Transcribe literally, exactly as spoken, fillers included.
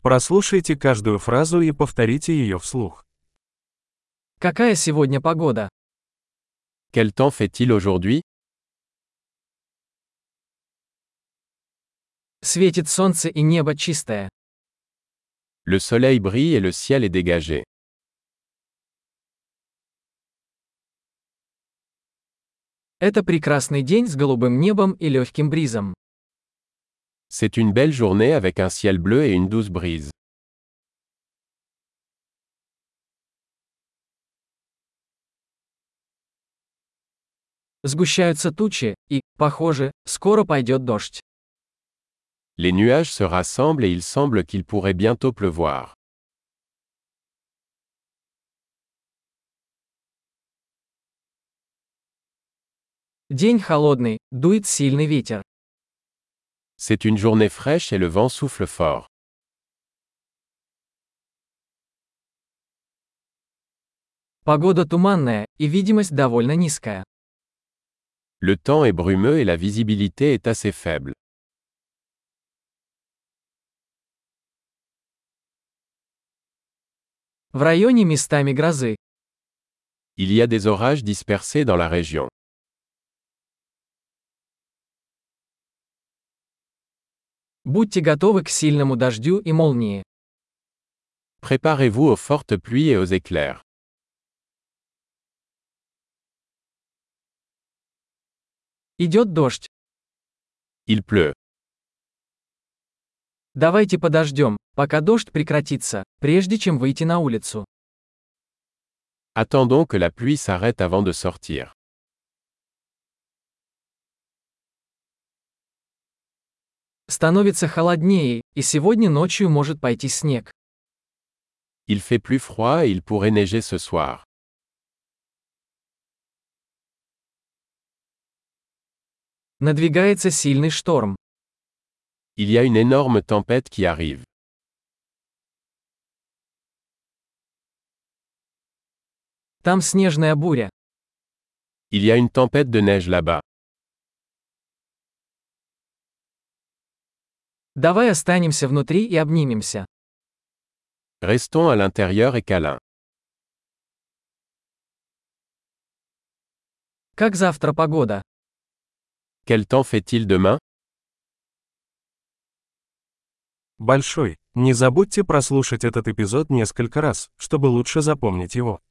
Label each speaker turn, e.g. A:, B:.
A: Прослушайте каждую фразу и повторите ее вслух.
B: Какая сегодня погода?
C: Quel temps fait-il aujourd'hui?
B: Светит солнце и небо чистое.
C: Le soleil brille et le ciel est dégagé.
B: Это прекрасный день с голубым небом и легким бризом.
C: C'est une belle journée avec un ciel bleu et une douce brise.
B: Сгущаются тучи, и, похоже, скоро пойдет дождь.
C: Les nuages se rassemblent et il semble qu'il pourrait bientôt pleuvoir.
B: День холодный, дует сильный ветер.
C: C'est une journée fraîche et le vent souffle fort.
B: Погода туманная, и видимость довольно низкая.
C: Le temps est brumeux et la visibilité est assez faible.
B: В районе местами грозы.
C: Il y a des orages dispersés dans la région.
B: Будьте готовы к сильному дождю и молнии.
C: Préparez-vous aux fortes pluies et aux éclairs.
B: Идет дождь.
C: Il pleut.
B: Давайте подождем, пока дождь прекратится, прежде чем выйти на улицу.
C: Attendons que la pluie s'arrête avant de sortir.
B: Становится холоднее, и сегодня ночью может пойти снег.
C: Il fait plus froid et il pourrait neiger ce soir.
B: Надвигается сильный шторм.
C: Il y a une énorme tempête qui arrive.
B: Там снежная буря.
C: Il y a une tempête de neige là-bas.
B: Давай останемся внутри и обнимемся.
C: Restons à l'intérieur et câlins.
B: Как завтра погода?
C: Quel temps fait-il demain?
A: Большой. Не забудьте прослушать этот эпизод несколько раз, чтобы лучше запомнить его.